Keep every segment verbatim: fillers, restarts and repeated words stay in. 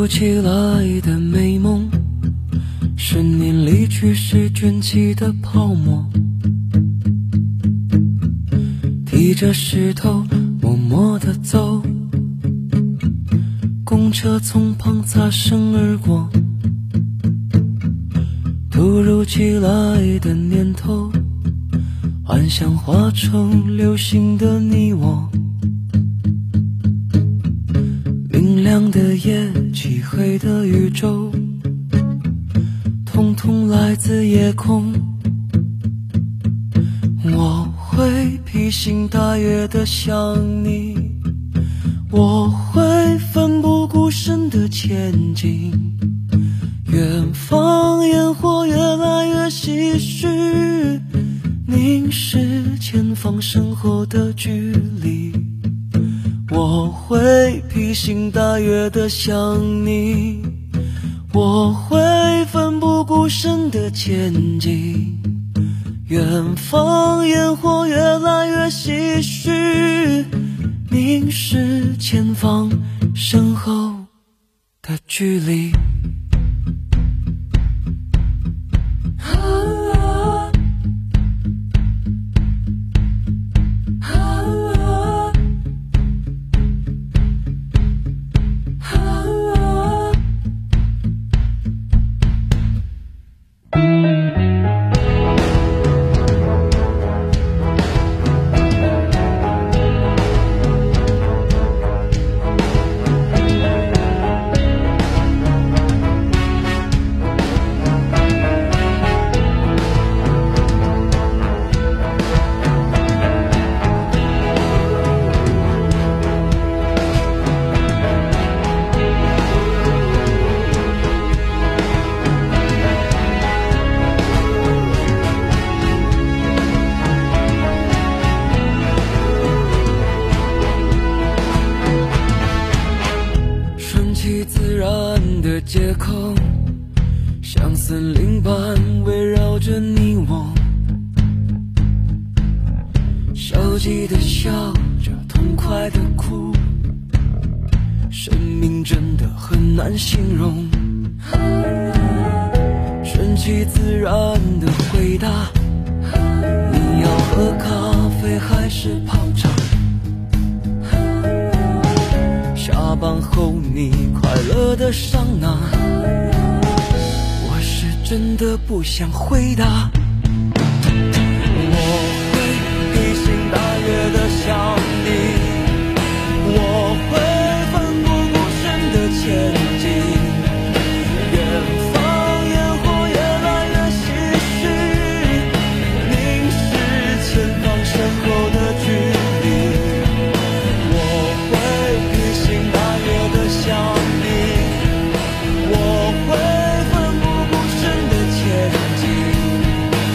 如其来的美梦，十年离去时卷起的泡沫，提着石头默默地走，公车从旁擦身而过，突如其来的念头，幻想化成流星的你我，明亮的夜，漆黑的宇宙，统统来自夜空。我会披星戴月地想你，我会奋不顾身地前进，远方烟火越来越唏嘘，凝视前方身后的距离。我会披星戴月地想你，我会奋不顾身地前进，远方烟火越来越唏嘘，凝视前方身后的距离。街口像森林般围绕着你我，消极的笑着，痛快的哭，生命真的很难形容。顺其自然的回答，你要喝咖啡还是泡茶？下班后你快乐的桑拿，我是真的不想回答。我会披星戴月的想你，我会奋不顾身的前进，远方烟火越来越唏嘘，凝视前方身后的距离。想你，我会奋不顾身的前进，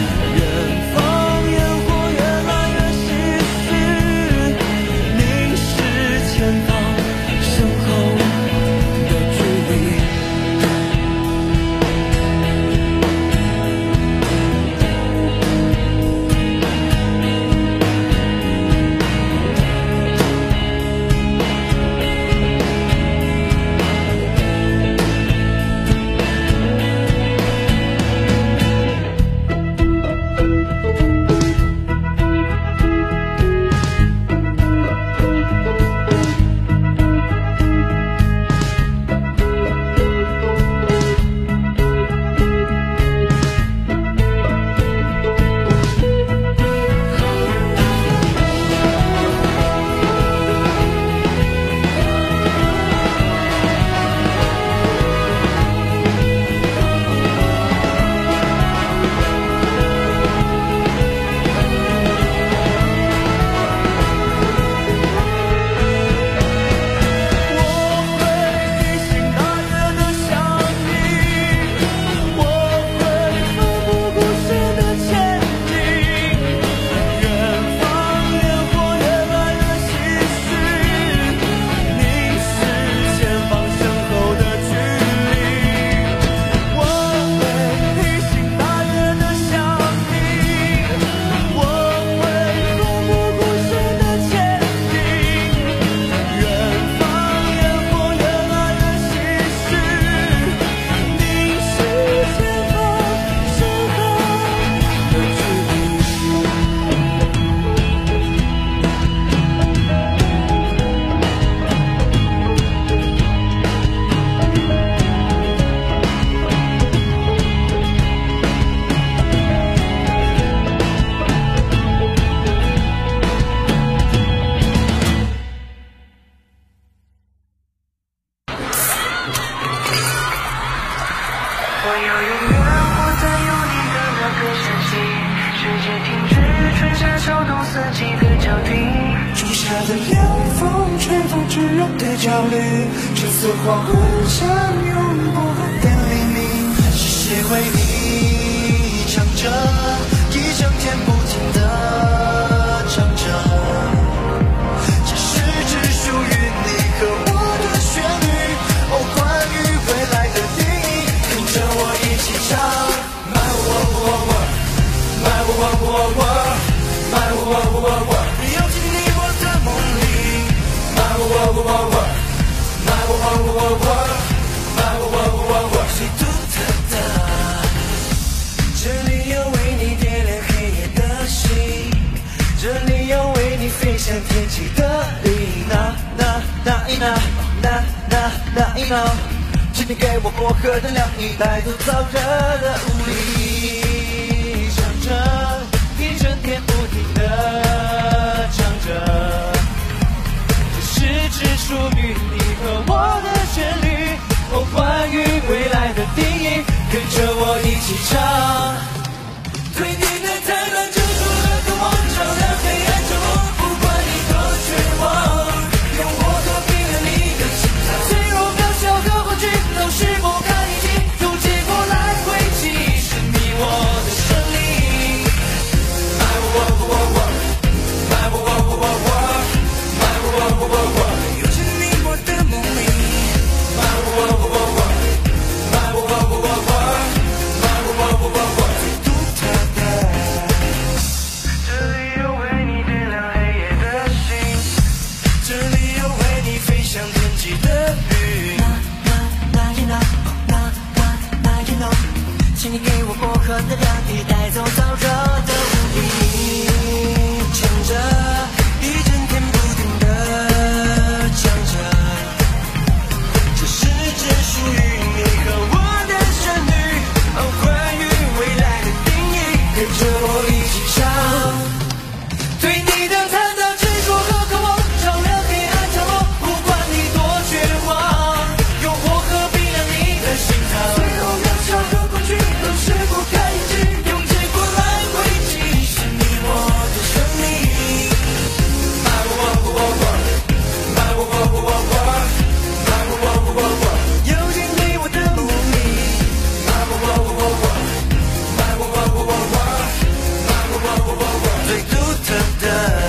天风炙热的焦虑，这次黄昏像永不的黎明，是谁为你唱着一整天不停的唱着，这是只属于你和我的旋律，哦，关于未来的定义，跟着我一起唱。My world world world My world world world My world world world 游进你我的梦里。My world world world My world world world My world world world 最独特的，这里有为你点亮黑夜的星，这里有为你飞向天际的云。那那那一那那那那一那，请你给我薄荷的凉意，带走燥热的无力，唱着一整天不停的唱着，这是只属于你和我的旋律，哦，关于未来的定义，跟着我一起唱。对你的贪婪执着和渴望，照亮黑暗角落，不管你多绝望，用我和冰冷你的心脏，脆弱渺小和恐惧都是不堪一击，用结果来回击，是你我的胜利。My world world world My world world world My world world world 游进你我的梦里。My world world world My world world world My world world world 最独特的，这里有为你点亮黑夜的星，这里有为你飞向天际的云。那那那一那那那那一那，请你给我薄荷的凉意，带走燥热的无力，唱着一整天不停的唱着，这是只属于你和我的旋律，哦，关于未来的定义，跟着我一起唱。对你的贪婪执着和渴望，照亮黑暗角落，不管你多绝望，用火和冰凉你的心脏，最后渺小和恐惧都是不堪一击，用结果来回击，是你我的胜利。My world world world My world world world My world world world 游进你我的梦里。My world world world My world world world My world world world 最独特的，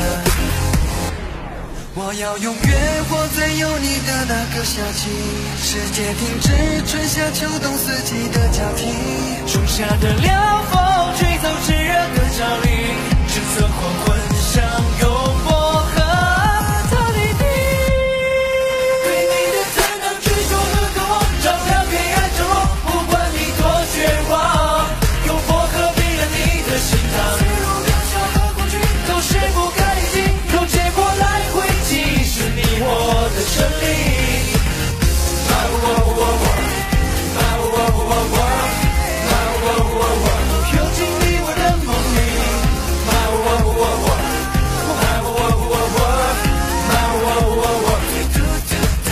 我要永远活在有你的那个夏季，世界停止春夏秋冬四季的交替，初夏的凉风吹走炙热的焦虑，橙色黄昏像有薄荷的黎明。对你的贪婪执着和渴望，照亮黑暗角落，不管你多绝望，用薄荷冰冷你的心脏，脆弱渺小和恐惧都是不堪一击，用结果来回击，是你我的胜利。My world world world My world world world My world world world 游进你我的梦里。My world world world My world world world My world world world 最独特的。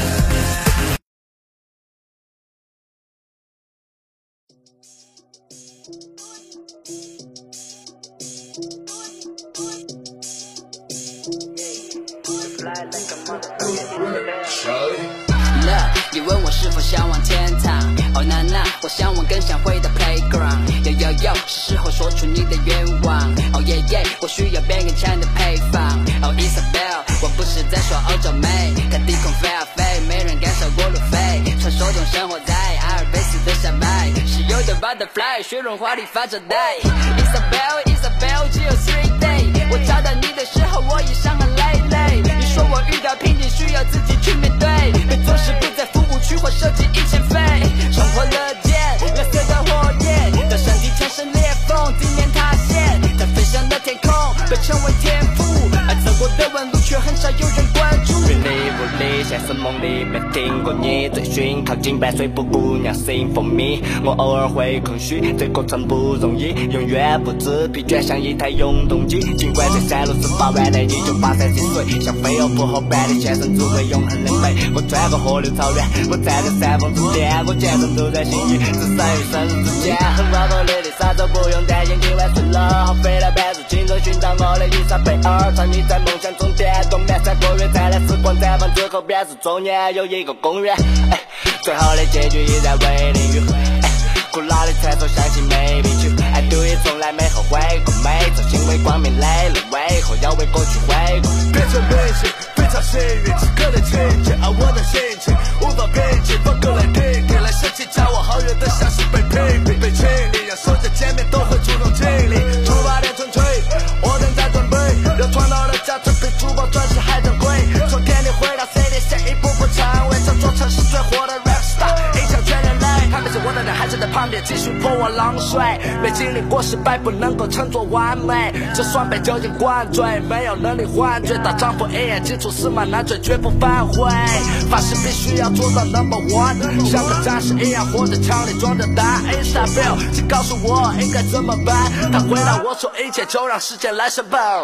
你问我是否向往天堂？哦那那，我向往更想回到 playground。yo yo yo， 是时候说出你的愿望。哦耶耶，我需要变更强的配方。哦 Isabel， 我不是在说欧洲妹，看低空飞啊飞，没人敢少过路飞。传说中生活在阿尔卑斯的山脉，是有的 butterfly， 雪绒花里发着呆。Isabel Isabel， 只有 three day， 我找到你的时候，我已伤痕累累。你说我遇到瓶颈，需要自己去面对，别做事不在服务区或设计一千飞，冲破了剑，蓝色的火焰，当身体产生裂缝，地面塌陷，在飞翔的天空被称为天赋，而走过的纹路却很少有人关注。云里雾里，现实梦里没听过你，追寻靠近白水布姑娘 sing for me， 我偶尔会空虚，这过程不容易，永远不知疲倦，像一台永动机。尽管这山路十八万内你就跋山涉水，像飞蛾扑后半的前生只为永恒的美。我穿过河流草原，我站在山峰之巅，我全身都在心意，只剩余生日之间。很光头的丽莎都不用担心今晚睡了，好飞来半入青春寻找我的伊莎贝尔，藏匿在梦想中点动，满山过月灿烂时光绽放之后。 后边是中间有一个公园，哎，最后的结局依然为零与会，哎，古老的传说相信没必去爱对于从来没后悔过，每种行为光明磊落，为何要为过去悔过？ 变成明星非常幸运，此刻的情节而我的心情无法平静，放歌来听听，来想起叫我好远的像是被屏蔽被清理，让所有见面都会主动尽力，出发点纯粹，我正在准备，让传统的家产比珠宝钻石还珍贵，从天里回到 C D 写一步步成为这座城市最火的 rap star， 影响全人类，他们是我的人还是在旁边继续泼我冷水，没经历过失败不能够称作完美，就算被酒精灌醉，没有能力幻觉，大丈夫一言既出驷马难追，绝不反悔，发誓必须要做到 number one， 像个战士一样活着，枪里装着弹 Isabel 请告诉我应该怎么办，他回答我说一切就让时间来申报。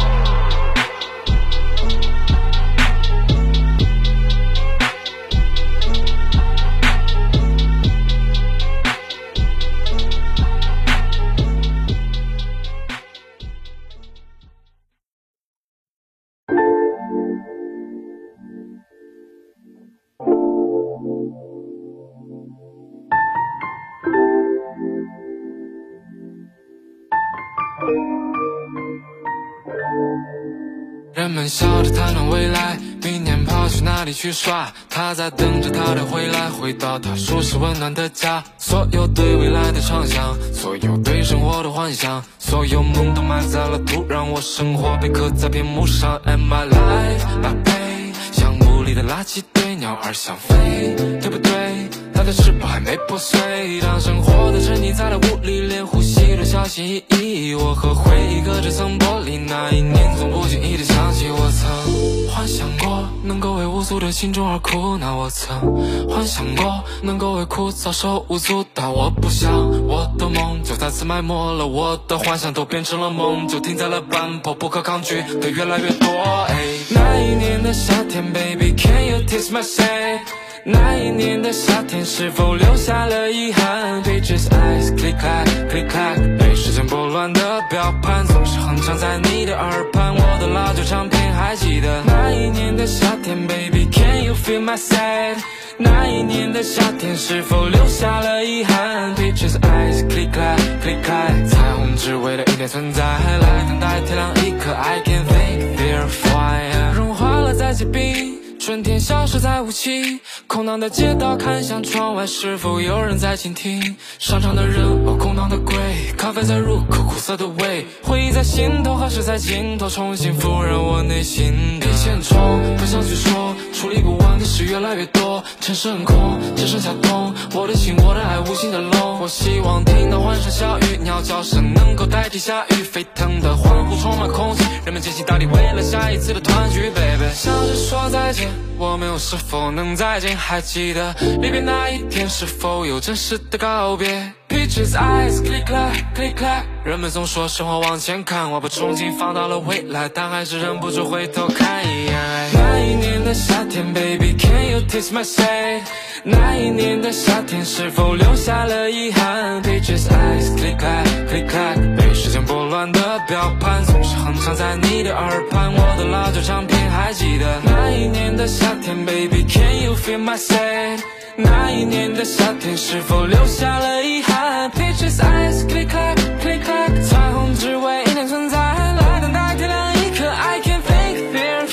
人们笑着谈论未来，明年跑去哪里去耍，他在等着他的回来，回到他舒适温暖的家。所有对未来的畅想，所有对生活的幻想，所有梦都埋在了土壤，我生活被刻在屏幕上。 And my life my pain， 像雾里的垃圾堆，鸟儿想飞，对不对？它的翅膀还没破碎，当生活的沉溺在了雾里，连呼吸都小心翼翼。我和回忆隔着层玻璃，那一年总不经意地想起，我曾幻想过能够为无助的心中而哭闹，我曾幻想过能够为枯燥手舞足蹈，我不想我的梦就再次埋没了，我的幻想都变成了梦，就停在了半坡，不可抗拒的越来越多。哎，那一年的夏天 ，Baby can you taste my shade？那一年的夏天是否留下了遗憾 ？Bitches eyes click clack click clack， 被时间拨乱的表盘总是哼唱在你的耳畔，我的老旧唱片还记得那一年的夏天 ，Baby can you feel my sad？ 那一年的夏天是否留下了遗憾 ？Bitches eyes click clack click clack， 彩虹只为了一点存在，来等待天亮一刻 ，I can think they're fine， 融化了在结冰。春天消失在雾气，空荡的街道看向窗外，是否有人在倾听？商场的人哦，空荡的柜，咖啡在入口，苦涩的味，回忆在心头，何时在尽头，重新复燃我内心的千重。不想去说，处理不完的事越来越多，城市很空，只剩下冬。我的心，我的爱，无形的龙。我希望听到欢声笑语，鸟叫声能够代替下雨，沸腾的欢呼充满空气，人们坚信到底为了下一次的团聚 ，baby。笑着说再见。我们又是否能再见？还记得离别那一天，是否有真实的告别 ？Peaches eyes click clack click clack， 人们总说生活往前看，我把憧憬放到了未来，但还是忍不住回头看一眼。那一年的夏天 ，Baby can you taste my shade？ 那一年的夏天是否留下了遗憾 ？Peaches eyes click clack click clack， 被时间拨乱的表盘总是哼唱在你的耳畔，我的老旧唱片还记得那一年的夏天 ，Baby can you feel my sad？ 那一年的夏天是否留下了遗憾 ？Peaches eyes click clack click clack， 彩虹只为一点存在，来等待天亮一刻 ，I can think they're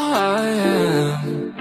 fine。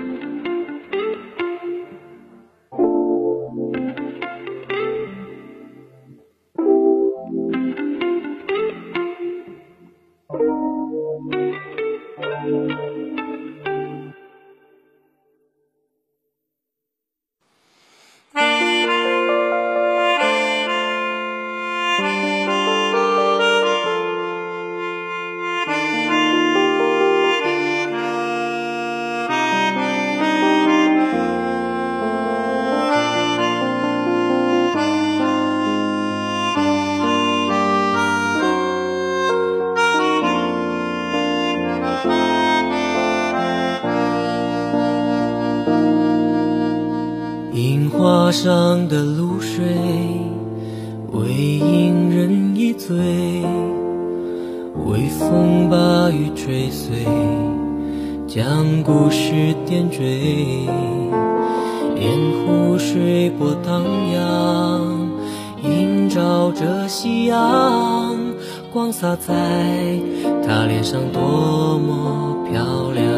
樱花上的露水，为引人一醉，微风把雨吹碎， 将故事点缀，沿湖水波荡漾，映照着夕阳，光洒在她脸上多么漂亮。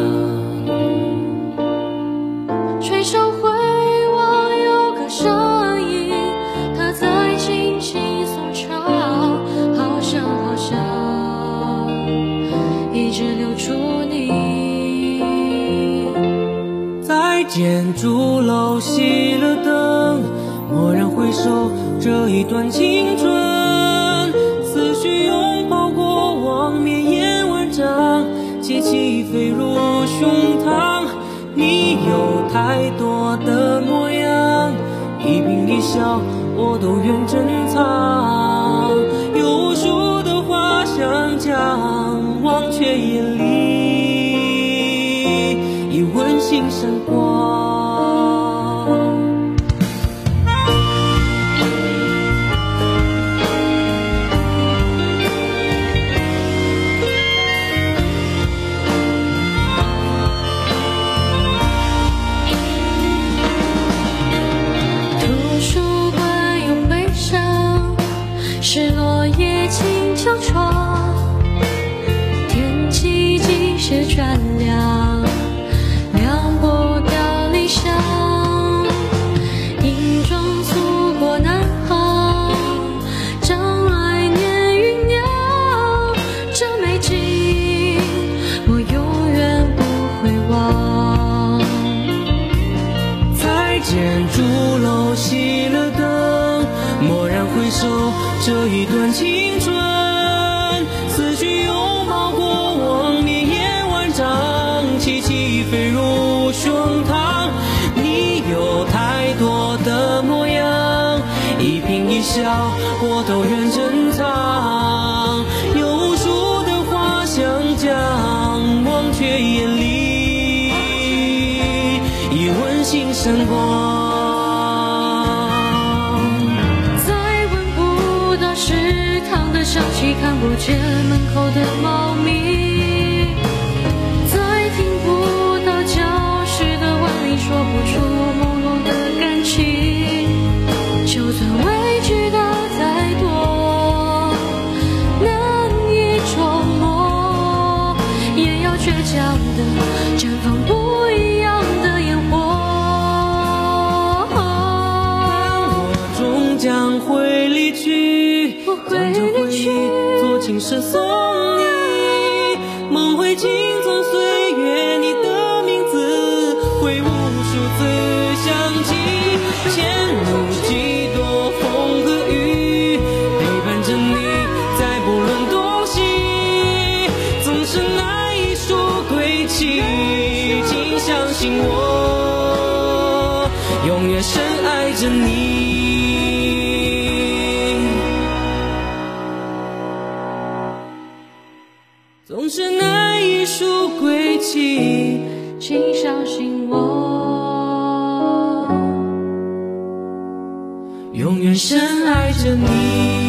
垂手回望，有个身影，他在轻轻颂唱，好像好像一直留住你。 在建筑楼熄了灯，蓦然回首，这一段青春，思绪拥抱过往，绵延万丈，节气飞入胸膛。你有太多的模样，一颦一笑我都愿珍藏，有无数的话想讲，忘却眼里已温馨闪光。 是落叶轻敲窗，天气机械转凉，凉不掉理想，硬装祖国南航，将来年酝酿，这美景我永远不会忘。 在建筑楼熄了灯，蓦然回首，这一段青春，思绪拥抱过往，绵延万丈，气息飞入胸膛。你有太多的模样，一颦一笑我都愿珍藏，有无数的话想讲，忘却眼里已温馨闪光。 想起看不见门口的猫咪，再听不到教室的顽篱，说不出朦胧的感情。就算委屈的再多，难以琢磨，也要倔强的绽放不一样的烟火。 我终将会离去，将这回忆做情诗送你，梦会轻松岁月，你的名字会无数次想起，前路几多风和雨，陪伴着你在不论东西，总是那一束归期，请相信我永远深爱着你。总是那一束归期， 请相信我永远深爱着你。